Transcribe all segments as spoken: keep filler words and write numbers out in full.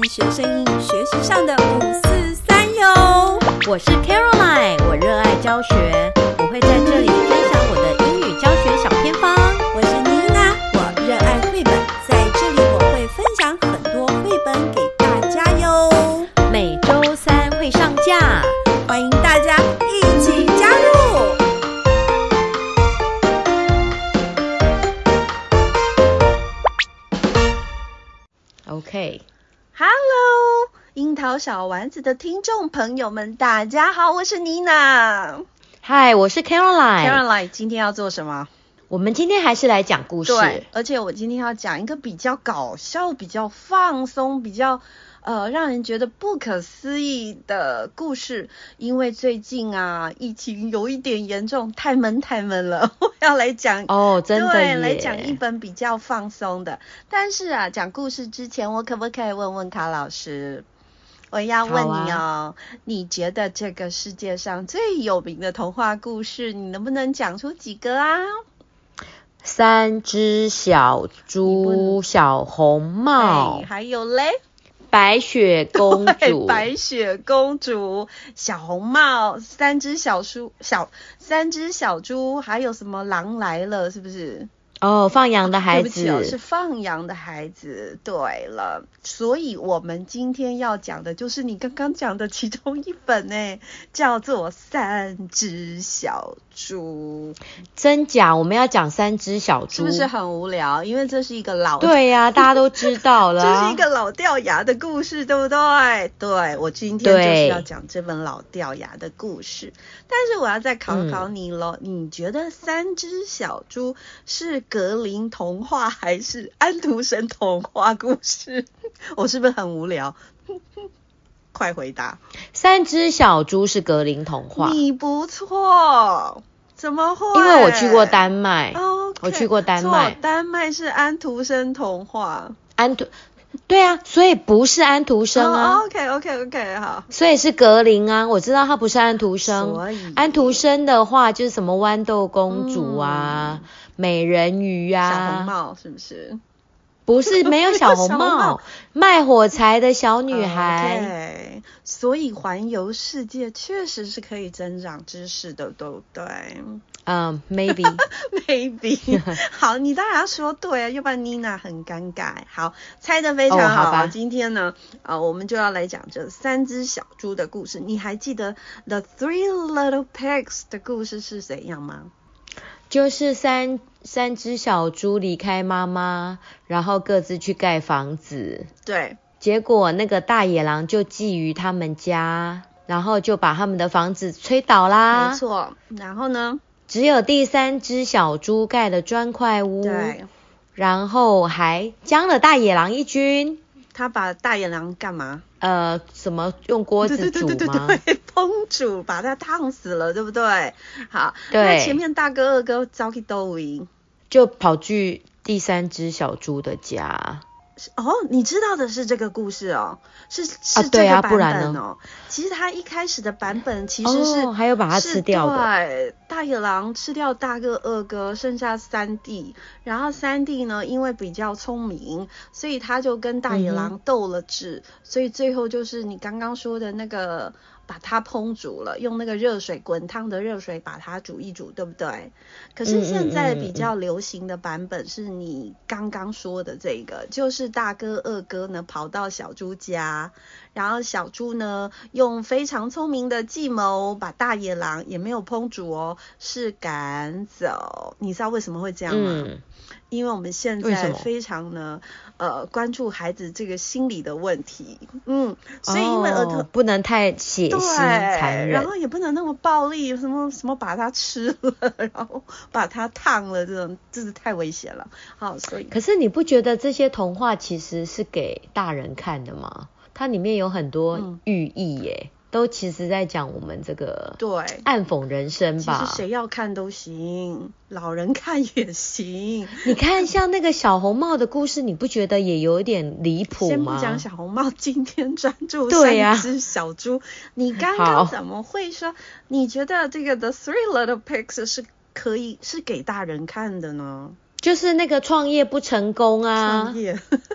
聽學聲英語學習上的五四三喲。 我是 Caroline， 我熱愛教學，我會在這裡分享我的英語教學小偏方。 我是妮娜，我熱愛繪本，在這裡我會分享很多繪本給大家喲。 每週三會上架， 歡迎大家一起加入。 OK。Hello， 櫻桃小丸子的聽眾朋友們，大家好，我是妮娜。 嗨，我是 Caroline。 Caroline， 今天要做什麼？ 我們今天還是來講故事。 對，而且我今天要講一個比較搞笑、比較放鬆、比較呃讓人覺得不可思議的故事。因為最近啊，疫情有一點嚴重，太悶太悶了，我要來講哦，真的耶， 對，來講一本比較放鬆的。但是啊，講故事之前，我可不可以問問卡老師？我要問你哦，啊、你覺得這個世界上最有名的童話故事，你能不能講出幾個啊？ 三隻小豬，小紅帽， 還有嘞， 白雪公主， 白雪公主，小紅帽，三隻小豬，小三隻小豬，還有什麼狼來了，是不是？ 哦，放羊的孩子， 對不起哦，是放羊的孩子。對了，所以我們今天要講的就是你剛剛講的其中一本呢，叫做《三隻小豬》。 真假？我們要講三隻小豬， 是不是很無聊？因為這是一個老…… 對呀、啊，大家都知道了， 這是一個老掉牙的故事，對不對？對，我今天就是要講這本老掉牙的故事。但是我要再考考你咯、嗯、你覺得三隻小豬是格林童話還是安徒生童話故事？我是不是很無聊？快回答！ 三隻小豬是格林童話。你不錯，怎麼會？ 因為我去過丹麥。 Okay, 我去過丹麥。 丹麥是安徒生童話。 安徒。對啊，所以不是安徒生啊。 Oh, OK OK OK 好。 所以是格林啊，我知道他不是安徒生。 所以安徒生的話就是什麼豌豆公主啊、嗯、美人魚啊、 小紅帽是不是？ 不是，沒有小紅帽，紅帽賣火柴的小女 。 孩。 Okay, 所以環遊世界確實是可以增長知識的，對不對？ 嗯、um, ，maybe maybe 好，你當然要說對啊，要不然妮娜很尷尬。好，猜得非常好。 哦、好今天呢，呃，我們就要來講這三隻小豬的故事。你還記得 The Three Little Pigs 的故事是怎樣嗎？ 就是三三隻小豬離開媽媽，然後各自去蓋房子。 對， 結果那個大野狼就覬覦他們家，然後就把他們的房子吹倒啦。 沒錯，然後呢？ 只有第三隻小豬蓋了磚塊屋， 對，然後還將了大野狼一軍。 他把大野狼幹嘛？ 呃，什麼用鍋子煮嗎？ 對對對對對，烹煮，把它燙死了，對不對？好， 對。 那前面大哥二哥走去哪裡？ 就跑去第三隻小豬的家。 哦，你知道的是這個故事哦，是是這個版本哦。啊對啊，不然呢？ 其實他一開始的版本其實是、 哦、還有把它吃掉的。 對，大野狼吃掉大哥二哥，剩下三弟，然後三弟呢，因為比較聰明，所以他就跟大野狼鬥了智、嗯，所以最後就是你剛剛說的那個。把它烹煮了，用那個熱水滾燙的熱水把它煮一煮，對不對？可是現在比較流行的版本是你剛剛說的這個，嗯、就是大哥二哥呢跑到小豬家，然後小豬呢用非常聰明的計謀把大野狼也沒有烹煮哦，是趕走。你知道為什麼會這樣嗎？嗯、因為我們現在非常呢呃關注孩子這個心理的問題，嗯，所以因為兒童、哦、 不能太血腥殘忍， 然後也不能那麼暴力，什麼什麼把它吃了，然後把它燙了，這種真是太危險了。好，所以可是你不覺得這些童話其實是給大人看的嗎？它裡面有很多寓意耶。嗯，都其實在講我們這個對暗諷人生吧。 其實誰要看都行，老人看也行。 你看像那個小紅帽的故事，你不覺得也有一點離譜嗎？ 先不講小紅帽，今天專注三隻小豬。啊、你剛剛怎麼會說？你覺得這個 The Three Little Pigs 是可以是給大人看的呢？ 就是那個創業不成功啊。 創業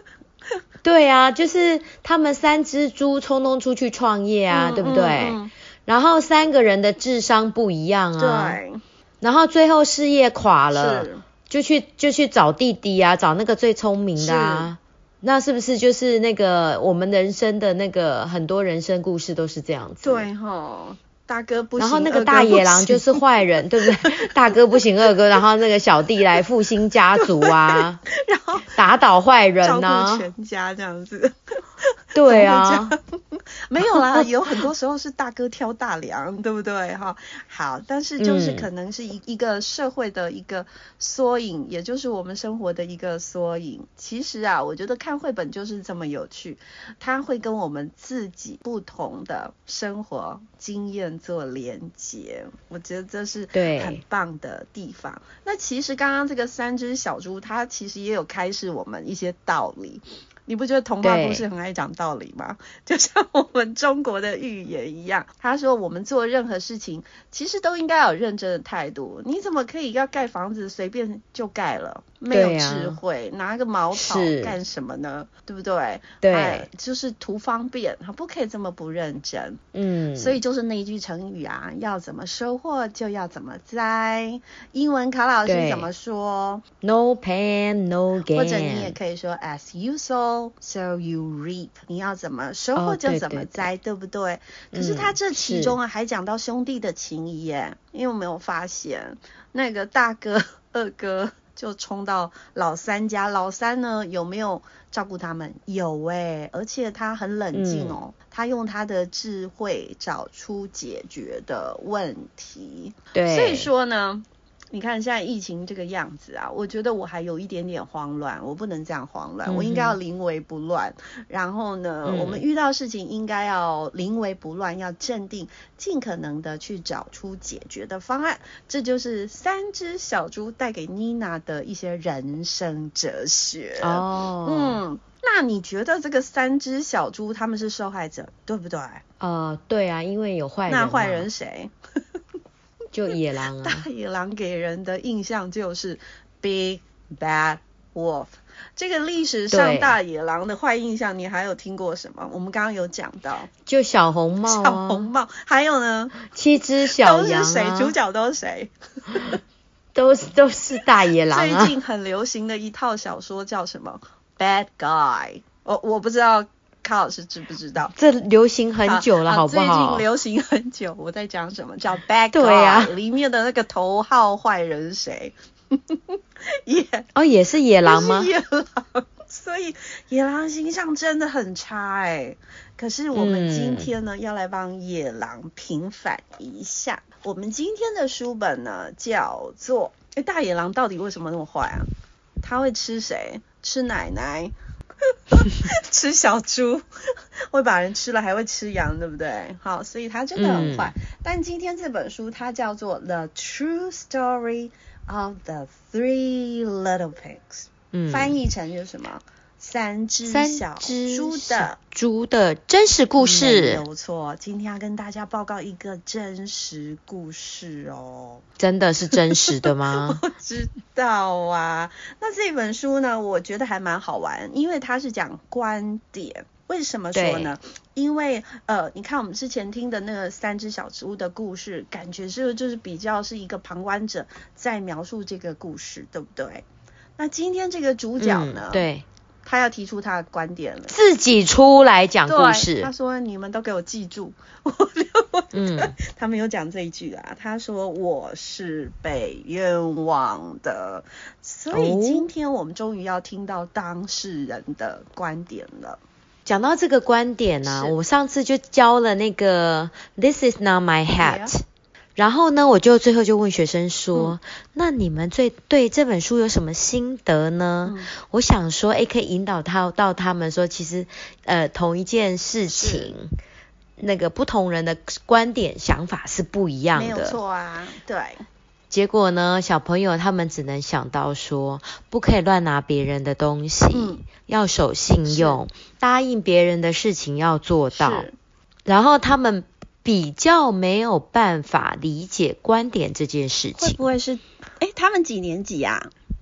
對啊，就是他們三隻豬衝動出去創業啊，嗯、對不對？嗯嗯、然後三個人的智商不一樣啊。對。然後最後事業垮了，是就去就去找弟弟啊，找那個最聰明的啊。是那是不是就是那個我們人生的那個很多人生故事都是這樣子？ 對齁。大哥不行， 然後那個大野狼就是壞人，對不對？大哥不行，二哥，然後那個小弟來復興家族啊，然後打倒壞人啊， 照顧全家這樣子。 對啊， 沒有啦，有很多時候是大哥挑大梁，對不對？哈，好，但是就是可能是一一個社會的一個縮影，嗯、也就是我們生活的一個縮影。其實啊，我覺得看繪本就是這麼有趣，它會跟我們自己不同的生活經驗做連結，我覺得這是很棒的地方。對那其實剛剛這個三隻小豬，它其實也有開示我們一些道理。你不覺得童話故事很愛講道理嗎？對就像我們中國的寓言一樣，他說我們做任何事情其實都應該有認真的態度。你怎麼可以要蓋房子隨便就蓋了？沒有智慧，啊、拿個茅草幹什麼呢？是對不對？對，就是圖方便，不可以這麼不認真。嗯，所以就是那一句成語啊，要怎麼收穫就要怎麼栽。英文卡老師怎麼說 ？No pain, no gain。 或者你也可以說 As you sow, so you reap。你要怎麼收穫就怎麼栽，哦、對, 對, 對, 對不對？可是他這其中啊，嗯、還講到兄弟的情誼耶。因為我沒有發現那個大哥、二哥。就衝到老三家，老三呢有沒有照顧他們？有欸，而且他很冷靜哦，嗯、他用他的智慧找出解決的問題。對，所以說呢，你看現在疫情這個樣子啊，我覺得我還有一點點慌亂，我不能這樣慌亂，嗯、哼我應該要臨危不亂。然後呢，嗯、我們遇到事情應該要臨危不亂，要鎮定，盡可能的去找出解決的方案。這就是三隻小豬帶給妮娜的一些人生哲學。哦，嗯，那你覺得這個三隻小豬他們是受害者，對不對？ 呃，對啊，因為有壞人。 那壞人誰？ 就野狼啊， 大野狼給人的印象就是 Big Bad Wolf。這個歷史上大野狼的壞印象，對你還有聽過什麼？我們剛剛有講到， 就小紅帽、啊， 小紅帽，還有呢， 七隻小羊、啊， 都是誰？主角都是誰？ 都是都是大野狼啊。 最近很流行的一套小說叫什麼 ？Bad Guy。我我不知道。卡老師知不知道？這流行很久了，好, 好不好？ 最近流行很久。我在講什麼？叫 Bad Guy。對啊，裡面的那個頭號壞人是誰？也哦，也是野狼嗎？ 野狼。所以野狼形象真的很差哎、欸。可是我們今天呢，嗯、要來幫野狼平反一下。我們今天的書本呢，叫做……哎，大野狼到底為什麼那麼壞啊？他會吃誰？吃奶奶。吃小豬會把人吃了，還會吃羊，對不對？好，所以他真的很壞。嗯、但今天這本書它叫做《The True Story of the Three Little Pigs》，嗯，翻譯成就是什麼？三隻小豬的豬的真實故事。沒有錯，今天要跟大家報告一個真實故事哦。 真的是真實的嗎？ 我知道啊。那這本書呢，我覺得還蠻好玩，因為它是講觀點。為什麼說呢？對因為呃，你看我們之前聽的那個三隻小豬的故事，感覺是就是比較是一個旁觀者在描述這個故事，對不對？那今天這個主角呢？ 嗯、對。 他要提出他的觀點了， 自己出來講故事。 他說：“你們都給我記住。”嗯，他沒有講這一句啊。他說：“我是被冤枉的。”所以今天我們終於要聽到當事人的觀點了。 講到這個觀點呢、啊，是我上次就教了那個 "This is not my hat"。然後呢，我就最後就問學生說，嗯、那你們最對這本書有什麼心得呢？嗯、我想說，誒，可以引導他到他們說，其實呃同一件事情，是那個不同人的觀點想法是不一樣的。沒有錯啊，對。 結果呢，小朋友他們只能想到說，不可以亂拿別人的東西，嗯、要守信用，是答應別人的事情要做到。是然後他們比較沒有辦法理解觀點這件事情。 會不會是？誒，他們幾年級啊？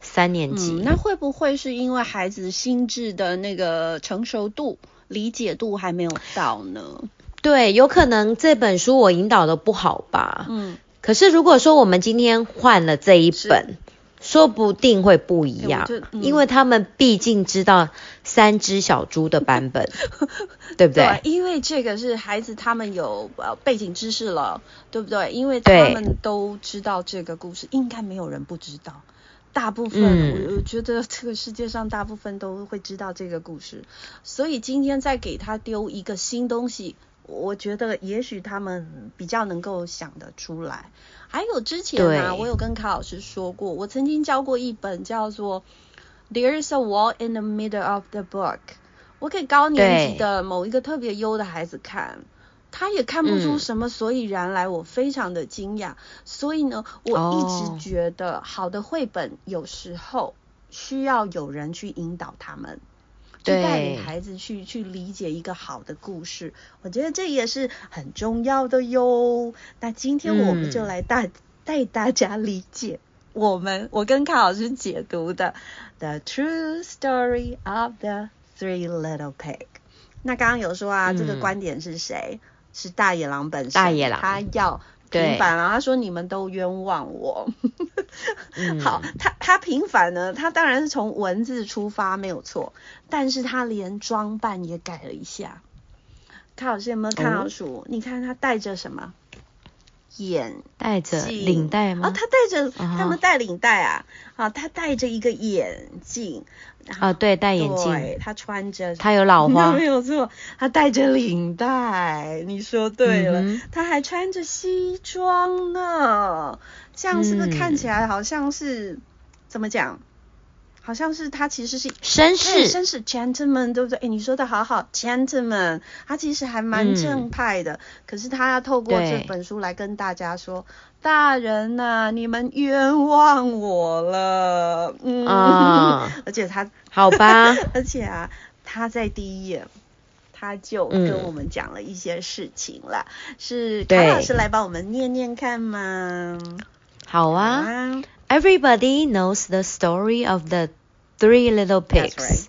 三年級。 嗯，那會不會是因為孩子心智的那個成熟度、理解度還沒有到呢？ 對，有可能這本書我引導的不好吧。 嗯， 可是如果說我們今天換了這一本，說不定會不一樣，欸嗯、因為他們畢竟知道三隻小豬的版本，對不對？ 對，因為這個是孩子他們有呃背景知識了，對不對？因為他們都知道這個故事，應該沒有人不知道。大部分、嗯、我我覺得這個世界上大部分都會知道這個故事，所以今天再給他丟一個新東西，我覺得也許他們比較能夠想得出來。還有之前啊，我有跟卡老師說過，我曾經教過一本叫做 There's a Wall in the Middle of the Book， 我給高年級的某一個特別優的孩子看，他也看不出什麼所以然來，我非常的驚訝。嗯、所以呢，我一直覺得好的繪本有時候需要有人去引導他們。去帶領孩子去去理解一個好的故事，我覺得這也是很重要的喲。那今天我們就來帶、嗯、帶大家理解我們我跟卡老師解讀的 The True Story of the Three Little Pigs。那剛剛有說啊，嗯、這個觀點是誰？是大野狼本身。大野狼他要平反了，他說你們都冤枉我。嗯、好，他他平反呢，他當然是從文字出發沒有錯，但是他連裝扮也改了一下。卡老師有沒有看到書？哦、你看他戴着什麼？眼戴着領帶嗎？ 哦，他戴着，他們戴領帶啊。啊，他戴着一個眼鏡。 啊，對，戴眼鏡。 對，他穿着。 他有老花。 沒有錯，他戴着領帶。你說對了，嗯、他還穿着西裝呢。這樣是不是看起來好像是、嗯、怎麼講？好像是他其實是紳士， 紳士 gentleman， 對不對？哎，你說的好好 gentleman， 他其實還蠻正派的。嗯、可是他要透過這本書來跟大家說，大人吶、啊，你們冤枉我了。嗯，啊、而且他好吧， 而且啊，他在第一頁他就跟我們講了一些事情了。嗯、是卡老師來幫我們念念看嗎？ 好啊。好啊，Everybody knows the story of the three little pigs. Right.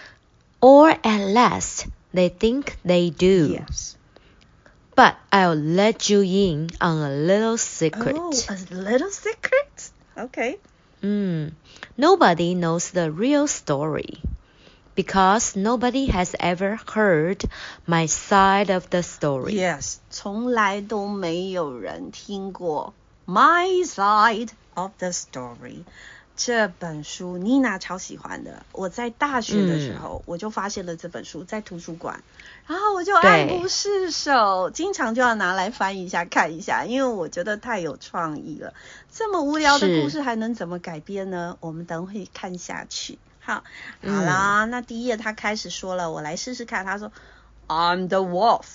Or at last, they think they do. Yes. But I'll let you in on a little secret. Oh, a little secret? Okay. Mm. Nobody knows the real story. Because nobody has ever heard my side of the story. Yes. 從來都沒有人聽過 my side of the story。 這本書妮娜超喜歡的，我在大學的時候、嗯、我就發現了這本書在圖書館，然後我就愛不釋手，經常就要拿來翻一下看一下，因為我覺得太有創意了。這麼無聊的故事還能怎麼改編呢？我們等會看下去。好，好啦、嗯、那第一頁他開始說了，我來試試看。他說 I'm the wolf,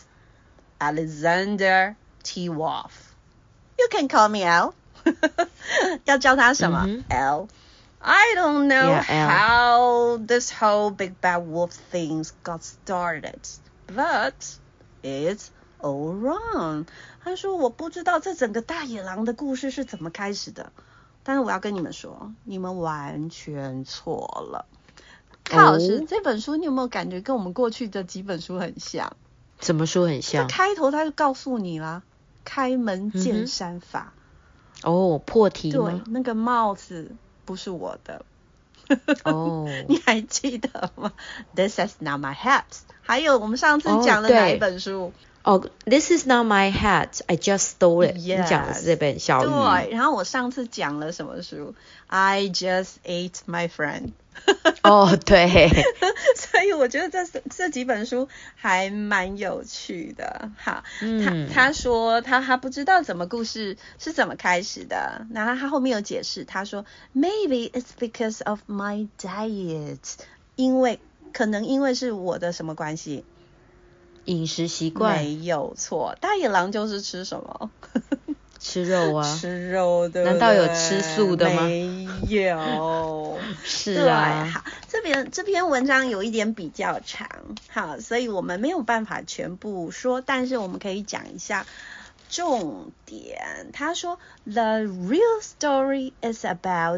Alexander T. Wolf. You can call me Al. 要教他什麼、mm-hmm. L. I don't know yeah, how this whole big bad wolf thing got started, but it's all wrong. 他說我不知道這整個大野狼的故事是怎麼開始的，但是我要跟你們說，你們完全錯了。卡老師、oh. 這本書你有沒有感覺跟我們過去的幾本書很像？ 什麼書很像？ 開頭他就告訴你啦，開門見山法。Mm-hmm. 哦，oh, 破題嗎？ 對，那個帽子不是我的。 哦， oh. 你還記得嗎 ？This is not my hat。還有我們上次講的哪一本書？ 哦、oh, oh,，This is not my hat. I just stole it。Yes. 你講的是這本小魚。 對，然後我上次講了什麼書 ？I just ate my friend。 哦，對。 所以我覺得這這幾本書還蠻有趣的。好，嗯、他他說他他不知道怎麼故事是怎麼開始的，然後他後面有解釋，他說 Maybe it's because of my diet， 因為可能因為是我的什麼關係？ 飲食習慣。 沒有錯，大野狼就是吃什麼？ 吃肉啊， 吃肉的， 難道有吃素的嗎？ 沒有， 是啊。 對，好，這邊這篇文章有一點比較長，好，所以我們沒有辦法全部說，但是我們可以講一下重點。他說 The real story is about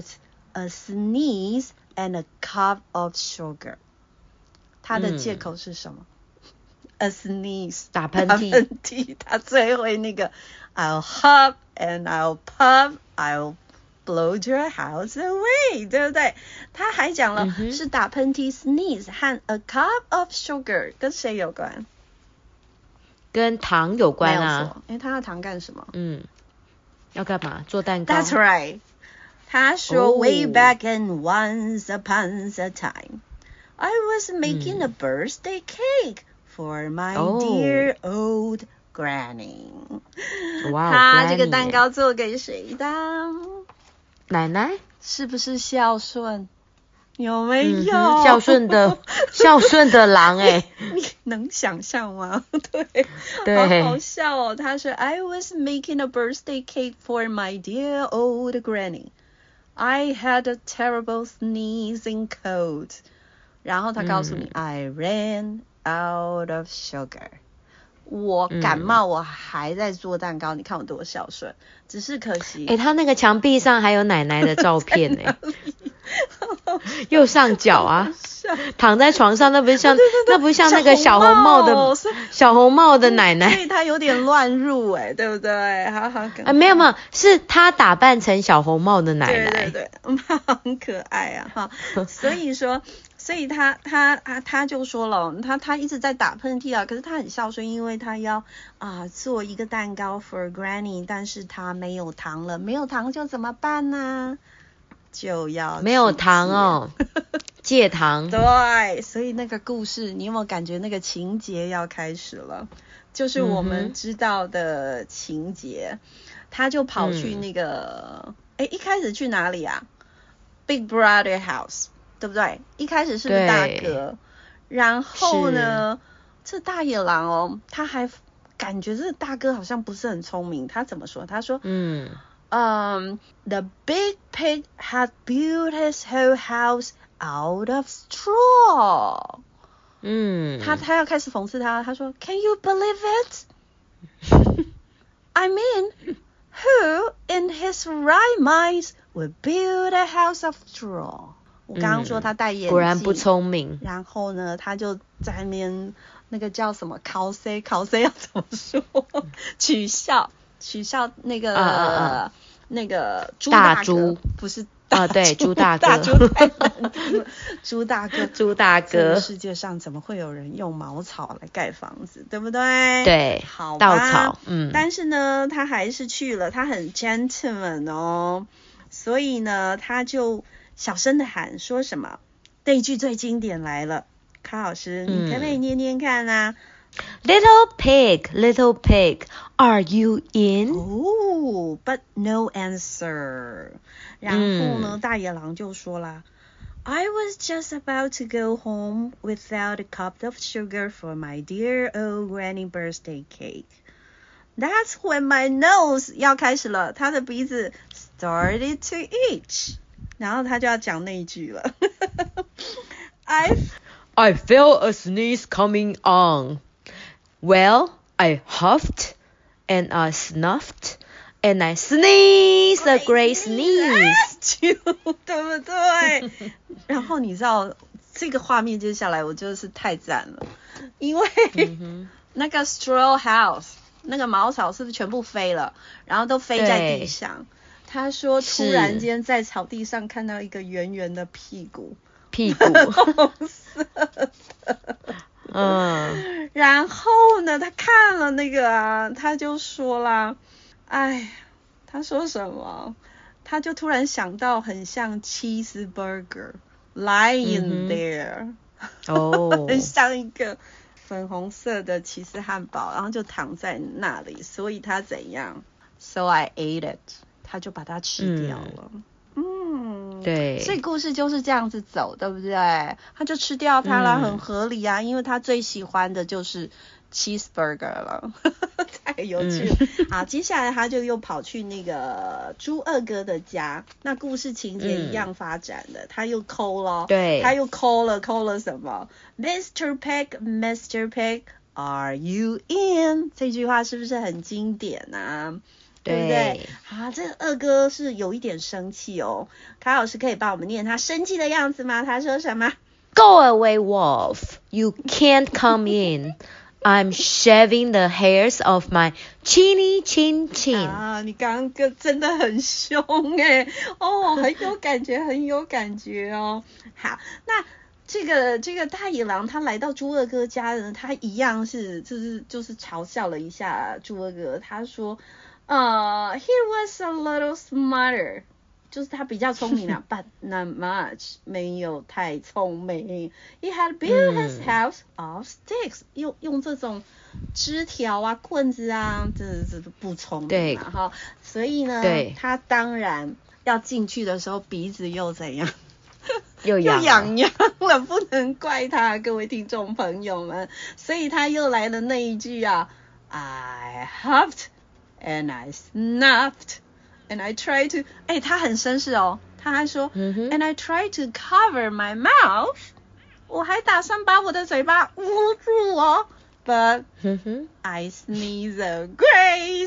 a sneeze and a cup of sugar。他的借口是什麼、嗯、？A sneeze， 打噴嚏。 打噴嚏，他最會那個 I'll huff and I'll puff, I'll blow your house away， 對不對？他還講了、嗯、是打噴嚏 sneeze 和 a cup of sugar 跟誰有關？ 跟糖有關啊。 沒有錯，誒，他要糖幹什麼？嗯， 要幹嘛？做蛋糕。 That's right。他說、oh. Way back in once upon a time, I was making、嗯、a birthday cake for my、oh. dear old granny。哇、wow, 他這個蛋糕做給誰的？ 奶奶。 是不是孝順？有沒有、 嗯、孝順的孝順的狼哎、欸？ 你能想象嗎？對， 對， 好好笑哦。他說 I was making a birthday cake for my dear old granny. I had a terrible sneezing cold. 然後他告訴你、嗯、I ran out of sugar. 我感冒，我還在做蛋糕，嗯、你看我多孝順。只是可惜， 哎，他那個牆壁上還有奶奶的照片哎。右上角啊，躺在床上，那不是像對對對，那不是像那個小紅帽的小紅帽的奶奶， 所以她有點亂入哎，對不對？好好可愛啊， 沒有沒有，是她打扮成小紅帽的奶奶， 對對對，很可愛啊哈。所以說，所以他他他他就說了，他他一直在打噴嚏啊，可是他很孝順，因為他要啊、呃、做一個蛋糕 for Granny， 但是他沒有糖了，沒有糖就怎麼辦呢？就要沒有糖哦，戒糖。 對，所以那個故事，你有沒有感覺那個情節要開始了？就是我們知道的情節，嗯、他就跑去那個，哎、嗯，一開始去哪裡啊 ？Big Brother House， 對不對？一開始是不是大哥？然後呢，這大野狼哦，他還感覺這個大哥好像不是很聰明。他怎麼說？他說，嗯。Um, the big pig had built his whole house out of straw. 嗯，他他要開始諷刺他，他說 Can you believe it? I mean, who in his right mind would build a house of straw? 我剛剛說他戴眼鏡、嗯， 果然不聰明。 然後呢，他就在那邊那個叫什麼 cos cos 要怎麼說？取笑。取笑那個、啊啊啊、那個豬大哥，大豬不是啊，對，豬大哥，大豬太難聽了，豬大哥，豬大哥，這個世界上怎麼會有人用茅草來蓋房子，對不對？ 對， 好吧， 稻草，嗯。 但是呢，他還是去了，他很 gentleman 哦，所以呢，他就小聲的喊說什麼？這一句最經典來了，卡老師，嗯、你可不可以念念看啊？ Little pig, little pig, are you in? Oh, but no answer. 然後呢，大野狼就說啦 I was just about to go home without a cup of sugar for my dear old granny birthday cake. That's when my nose 要開始了，他的鼻子 started to itch. 然後他就要講那一句了。I I felt a sneeze coming on.Well, I huffed and I snuffed and I sneezed a great sneeze. 對不對？然後你知道這個畫面接下來我就是太讚了，因為、嗯、那個 straw house 那個茅草是不是全部飛了，然後都飛在地上。他說突然間在草地上看到一個圓圓的屁股， 屁股紅色的。 嗯， 然後呢，他看了那個啊，他就說啦，哎，他說什麼？他就突然想到很像 cheeseburger lying there，哦，很像一個粉紅色的起司漢堡，然後就躺在那裡，所以他怎樣 ？So I ate it， 他就把它吃掉了。嗯嗯，對，所以故事就是這樣子走，對不对？他就吃掉它了，嗯、很合理啊，因為他最喜歡的就是 cheeseburger 了，太有趣了。嗯、好，接下來他就又跑去那個豬二哥的家，那故事情節一樣發展的，嗯、他又摳了，對，他又摳了，摳了什麼 ？Mister Pig, Mister Pig, are you in？ 這句話是不是很經典啊？ 對不對？好，這個二哥是有一點生氣哦。卡老師可以幫我們念他生氣的樣子嗎？他說什麼 ？Go away, wolf! You can't come in. I'm shaving the hairs of my chinny chin chin. 啊，你剛剛真的很凶哎，哦，很有感覺，很有感覺哦。好，那這個這個大野狼他來到豬二哥家呢，他一樣是就是就是嘲笑了一下豬二哥，他說，呃、uh, ，he was a little smarter。就是他比較聰明啊，but not much， 沒有太聰明。He had built his house of sticks，、嗯、用用這種枝條啊、棍子啊，這這不聰明嘛哈。所以呢，他當然要進去的時候鼻子又怎樣？又癢癢了，不能怪他，各位聽眾朋友們。所以他又來了那一句啊 ，I huffed and I snuffed。And I try to， 哎，他很紳士哦，他還說、mm-hmm.，And I try to cover my mouth， 我還打算把我的嘴巴捂住哦 ，But、mm-hmm. I sneeze a great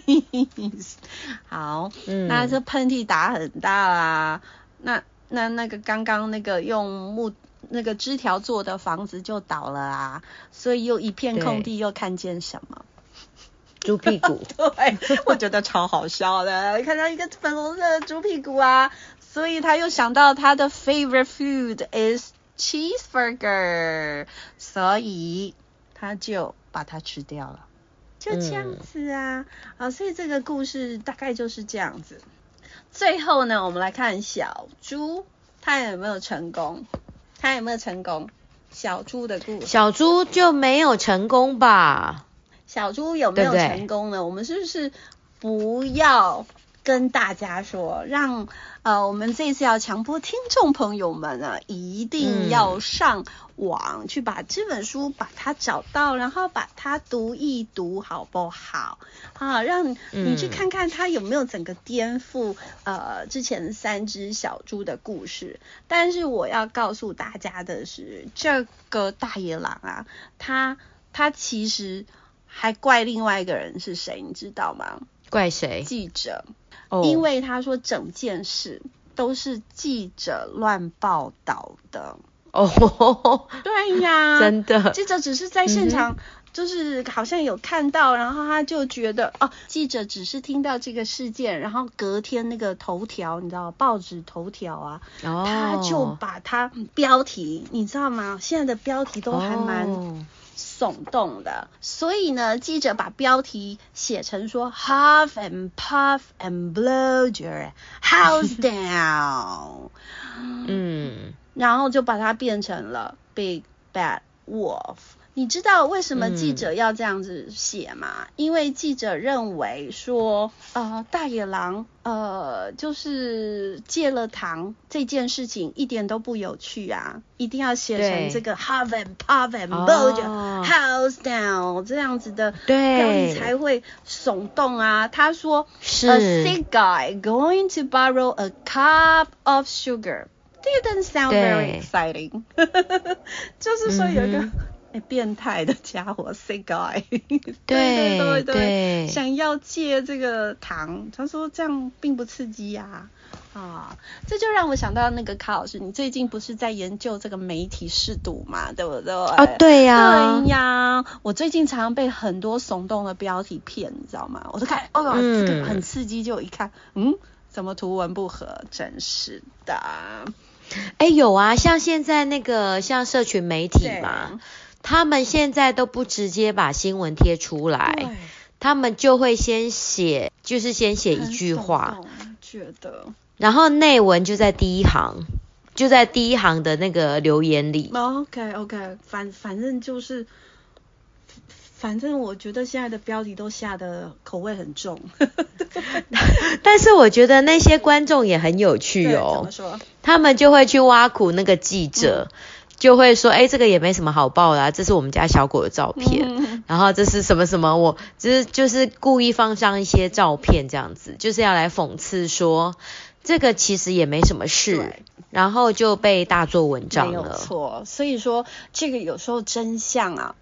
sneeze。好，嗯、那這噴嚏打很大啦，那那那個剛剛那個用木那個枝條做的房子就倒了啊，所以又一片空地，又看見什麼？ 豬屁股， 對，我覺得超好笑的，看到一個粉紅色的豬屁股啊，所以他又想到他的 favorite food is cheeseburger， 所以他就把它吃掉了，就這樣子啊，嗯、啊，所以這個故事大概就是這樣子。最後呢，我們來看小豬，他有沒有成功？他有沒有成功？小豬的故事， 小豬就沒有成功吧？ 小豬有沒有成功呢？對對，我們是不是不要跟大家說，讓呃我們這一次要強迫聽眾朋友們呢，一定要上網去把這本書把它找到，然後把它讀一讀，好不好？啊，讓你去看看它有沒有整個顛覆呃之前三隻小豬的故事。但是我要告訴大家的是，這個大野狼啊，他他其實還怪另外一個人是誰，你知道嗎？ 怪誰？ 記者。 Oh. 因為他說整件事都是記者亂報道的。 哦、oh. 對呀， 真的。 記者只是在現場，就是好像有看到，嗯、然後他就覺得哦，記者只是聽到這個事件，然後隔天那個頭條，你知道報紙頭條啊，oh. 他就把它標題，你知道嗎？現在的標題都還蠻。Oh.聳動的，所以呢，記者把標題寫成說 Huff and puff and blow your house down， 嗯，然後就把它變成了 Big Bad Wolf。你知道為什麼記者要這樣子寫嗎？嗯、因為記者認為說，呃，大野狼，呃，就是戒了糖這件事情一點都不有趣啊，一定要寫成這個 Huff and puff and blow your house down 這樣子的標題才會聳動啊。他說是 A sick guy going to borrow a cup of sugar didn't sound very exciting 就是說有一個、嗯欸、變態的家伙 sick guy 對對對對，對想要借這個糖，他說這樣並不刺激呀、啊。啊，這就讓我想到那個卡老師，你最近不是在研究這個媒體識讀嘛，對不對？ 啊，對呀、啊， 對呀。我最近常常被很多聳動的標題騙，你知道嗎？我都看，哦喲、嗯，這個很刺激，就一看，嗯，怎麼圖文不合？真是的。 哎，有啊，像現在那個像社群媒體嘛。他們現在都不直接把新聞貼出來，他們就會先寫，就是先寫一句話， 覺得， 然後內文就在第一行，就在第一行的那個留言裡。 OK OK， 反反正就是，反正我覺得現在的標題都下的口味很重， 但是我覺得那些觀眾也很有趣哦， 怎麼說？ 他們就會去挖苦那個記者。嗯，就會說，哎，這個也沒什麼好報的啊，這是我們家小狗的照片，嗯、然後這是什麼什麼，我就是就是故意放上一些照片這樣子，就是要來諷刺說，這個其實也沒什麼事，然後就被大做文章了。沒有錯， 所以說這個有時候真相啊，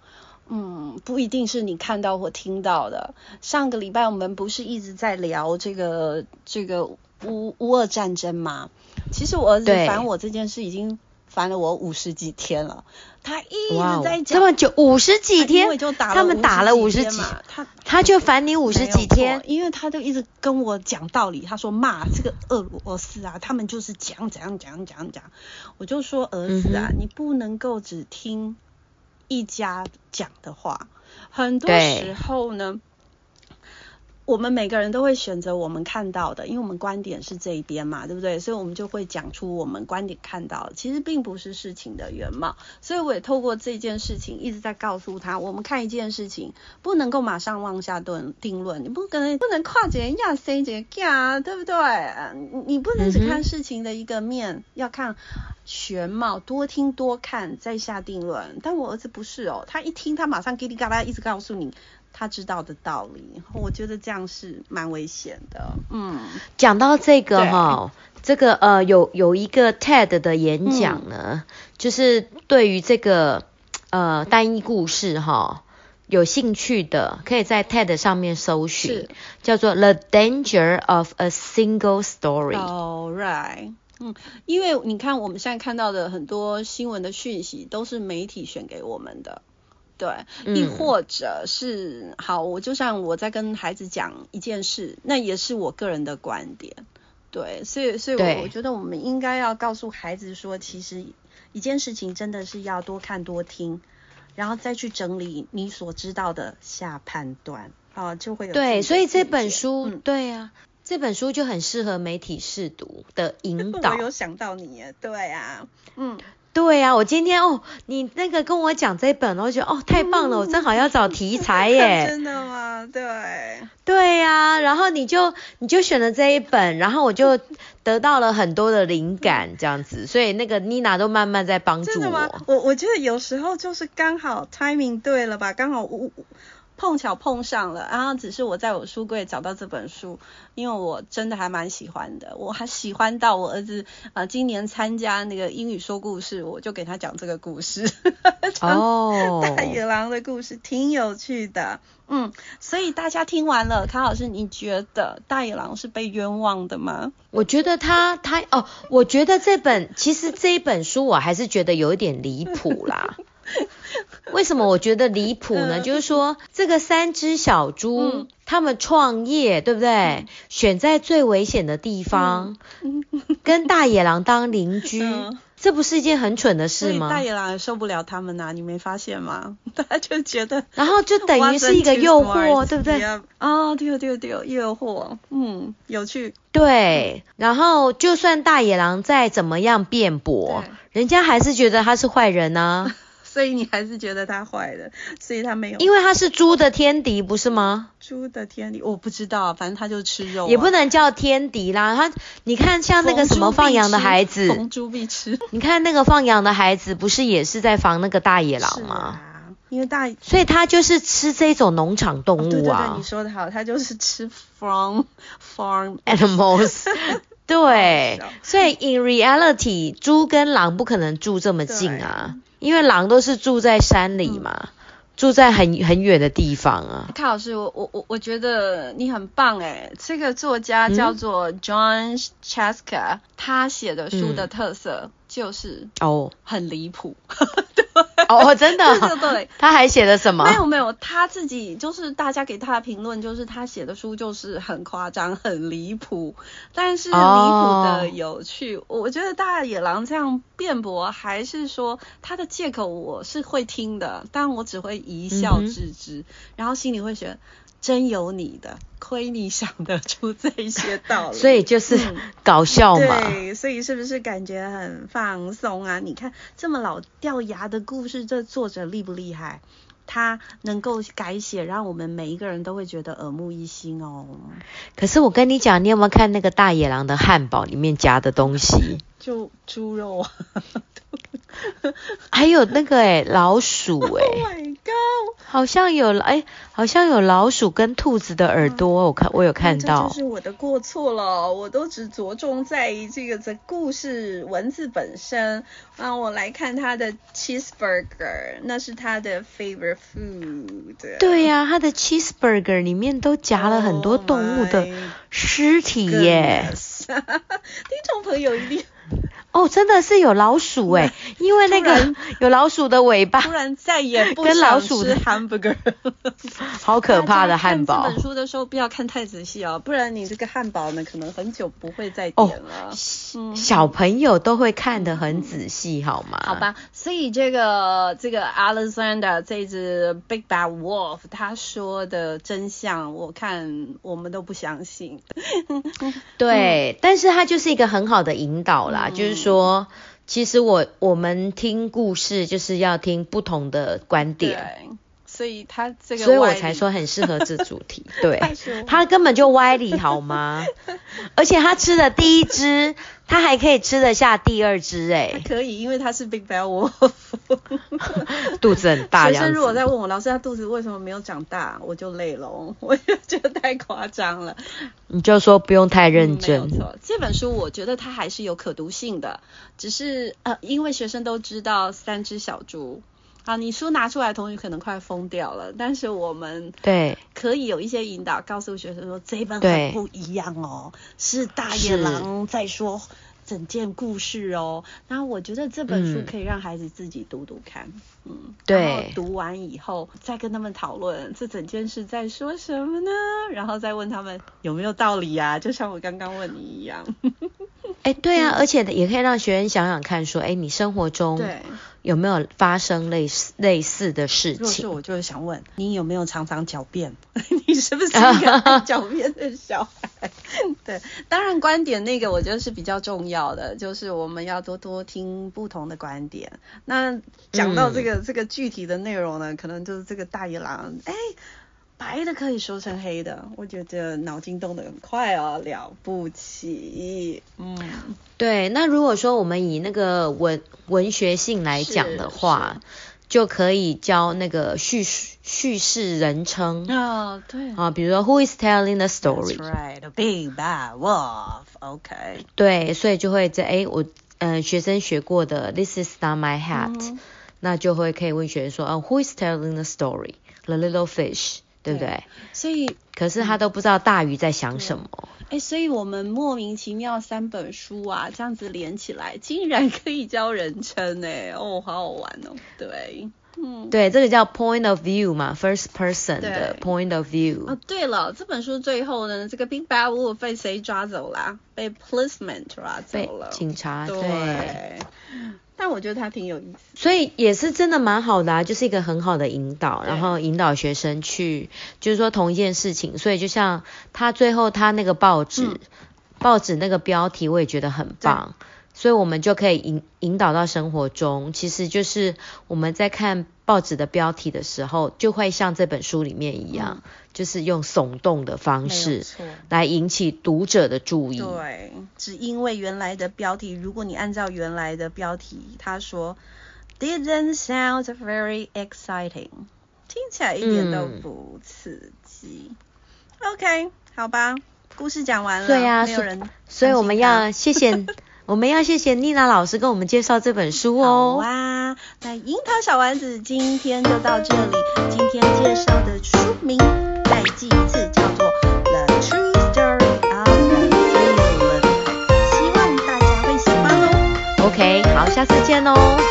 嗯，不一定是你看到或聽到的。上個禮拜我們不是一直在聊這個這個烏烏俄戰爭嗎？其實我兒子煩我這件事已經煩了我五十幾天了，他一直在講這麼久，五十幾天， 他, 就打了他們打了五十幾，他他就煩你五十幾天， 因為他就一直跟我講道理，他說罵這個俄羅斯啊，他們就是講怎樣講講講，我就說兒子啊，嗯、你不能夠只聽一家講的話，很多時候呢。我們每個人都會選擇我們看到的，因為我們觀點是這一邊嘛，對不對？所以我們就會講出我們觀點看到的，其實並不是事情的原貌。所以我也透過這件事情一直在告訴他，我們看一件事情不能夠馬上妄下定定論，你不可能不能跨節亞生節呀，對不對？你不能只看事情的一個面，嗯、要看全貌，多聽多看再下定論。但我兒子不是哦，他一聽他馬上嘰里嘎啦一直告訴你他知道的道理，我覺得這樣是蠻危險的。嗯， 講到這個哈，這個呃有有一個 T E D 的演講呢，嗯、就是對於這個呃單一故事哈有興趣的，可以在 T E D 上面搜尋，叫做 The Danger of a Single Story。All right。嗯，因為你看我們現在看到的很多新聞的訊息都是媒體選給我們的。對，亦或者是、嗯、好，我就像我在跟孩子講一件事，那也是我個人的觀點。對，所以所以我我覺得我們應該要告訴孩子說，其實一件事情真的是要多看多聽，然後再去整理你所知道的下判斷啊，就會有對。所以這本書，嗯、對啊，這本書就很適合媒體識讀的引導。 我有想到你耶，對啊，嗯。 對啊，我今天哦，你那個跟我講這本，我覺得哦太棒了，我正好要找題材耶。 真的嗎？對。 對呀、啊，然後你就你就選了這一本，然後我就得到了很多的靈感，這樣子，所以那個妮娜都慢慢在幫助我。真的嗎？ 我我覺得有時候就是剛好 timing 對了吧，剛好我。碰巧碰上了，然後只是我在我書櫃找到這本書，因為我真的還蠻喜歡的，我還喜歡到我兒子呃今年參加那個英語說故事，我就給他講這個故事，哦，大野狼的故事挺有趣的，嗯，所以大家聽完了，卡老師你覺得大野狼是被冤枉的嗎？ 我覺得他他哦，我覺得這本其實這一本書我還是覺得有一點離譜啦。為什麼我覺得離譜呢？就是說，這個三隻小豬，嗯、他們創業，對不對？嗯、選在最危險的地方，嗯、跟大野狼當鄰居，嗯、這不是一件很蠢的事嗎？ 大野狼也受不了他們吶、啊，你沒發現嗎？他就覺得， 然後就等於是一個誘惑，對不對？ 哦，對對對，誘惑，嗯，有趣。 對，然後就算大野狼再怎麼樣辯駁，人家還是覺得他是壞人啊。 所以你還是覺得他壞的，所以他沒有， 因為他是豬的天敵，不是嗎？ 豬的天敵，我不知道，反正他就吃肉、啊， 也不能叫天敵啦。他，你看像那個什麼放羊的孩子， 逢豬必吃。 你看那個放羊的孩子，不是也是在防那個大野狼嗎？ 啊、因為大， 所以他就是吃這種農場動物啊。哦、對對對， 你說的好，他就是吃 from farm animals。對，所以 in reality， 豬跟狼不可能住這麼近啊。因為狼都是住在山裡嘛，嗯、住在很很遠的地方啊。 卡老師，我我我我覺得你很棒誒，這個作家叫做 Jon Sciacca，、嗯、他寫的書的特色就是哦很離譜。嗯、對哦，真的， 對對對， 他還寫了什麼？ 沒有沒有，他自己就是大家給他的評論就是他寫的書就是很誇張、很離譜，但是離譜的有趣。哦、我覺得大野狼這樣辯駁，還是說他的借口我是會聽的，但我只會一笑置之，嗯、然後心裡會覺得真有你的，虧你想得出這些道理。 所以就是搞笑嘛、 嗯。對，所以是不是感覺很放鬆啊？你看這麼老掉牙的故事，這作者厲不厲害？他能夠改寫，讓我們每一個人都會覺得耳目一新哦。 可是我跟你講，你有沒有看那個大野狼的漢堡裡面夾的東西？ 就豬肉啊。 還有那個誒、欸、老鼠誒、欸 Oh my god！ 好像有哎，好像有老鼠跟兔子的耳朵，嗯、我看我有看到。 這就是我的過錯了，我都只着重在於這個這故事文字本身。啊，我來看他的 cheeseburger， 那是他的 favorite food。 對呀、啊，他的 cheeseburger 裡面都夾了很多動物的屍體耶。 Oh、聽眾朋友一定。 哦，真的是有老鼠哎，因為那個有老鼠的尾巴， 突然再也不想吃 hamburger， 好可怕的漢堡。 看這本書的時候不要看太仔細哦，不然你這個漢堡呢，可能很久不會再點了。哦嗯、小朋友都會看得很仔細，好嗎？ 好吧，所以這個這個 Alexander 這隻 Big Bad Wolf 他說的真相，我看我們都不相信。 對、嗯，但是他就是一個很好的引導啦，嗯、就是說，其實我我們聽故事就是要聽不同的觀點。 對，所以他這個， 所以我才說很適合這主題。對，他根本就歪理好嗎？而且他吃的第一隻，他還可以吃得下第二隻哎、欸。 可以，因為他是 Big Bad Wolf， 肚子很大。學生如果在問我，老師他肚子為什麼沒有長大，我就累了，我就覺得太誇張了。 你就說不用太認真。 嗯、沒有錯，這本書我覺得它還是有可讀性的，只是呃，因為學生都知道三隻小豬。好，你書拿出來，同學可能快瘋掉了。但是我們對可以有一些引導，告訴學生說這一本很不一樣哦，是大野狼在說整件故事哦。然後我覺得這本書可以讓孩子自己讀讀看，嗯，嗯對。然後讀完以後再跟他們討論這整件事在說什麼呢？然後再問他們有沒有道理啊？就像我剛剛問你一樣。 哎，對啊，而且也可以讓學生想想看，說，哎，你生活中對有沒有發生類似類似的事情？ 就是我就是想問，你有沒有常常狡辯？你是不是一個愛狡辯的小孩？對，當然觀點那個我覺得是比較重要的，就是我們要多多聽不同的觀點。那講到這個、嗯、這個具體的內容呢，可能就是這個大野狼，哎。白的可以說成黑的，我覺得腦筋動得很快哦，了不起。嗯， 對。那如果說我們以那個文文學性來講的話，就可以教那個敘敘事人稱啊、哦，對啊，比如說 Who is telling the story? That's right, a big bad wolf. OK. 對，所以就會在哎，我嗯、呃、學生學過的 This is not my hat，、嗯、那就會可以問學生說啊、哦、Who is telling the story? The little fish.對不對？對，所以可是他都不知道大魚在想什麼。 哎，所以我們莫名其妙三本書啊，這樣子連起來，竟然可以教人稱哎，哦，好好玩哦。對，嗯， 對，這個叫 point of view 嘛 ，first person 的 point of view。 哦，對了，這本書最後呢，這個 Big Bad Wolf 被誰抓走啦？被 policeman 抓走了， 被警察。對。 對，但我覺得他挺有意思， 所以也是真的蠻好的啊，就是一個很好的引導，然後引導學生去，就是說同一件事情。所以就像他最後他那個報紙，嗯、報紙那個標題，我也覺得很棒。所以我們就可以引引導到生活中，其實就是我們在看報紙的標題的時候，就會像這本書裡面一樣，嗯、就是用聳動的方式來引起讀者的注意。 對，只因為原來的標題，如果你按照原來的標題，他說 didn't sound very exciting， 聽起來一點都不刺激。嗯、OK， 好吧，故事講完了， 對啊， 沒有人， 所以我們要謝謝。我們要謝謝妮娜老師跟我們介紹這本書哦。 好啊，那櫻桃小丸子今天就到這裡。今天介紹的書名再記一次，叫做 The True Story of the Villain。希望大家會喜歡哦。 OK， 好，下次見哦。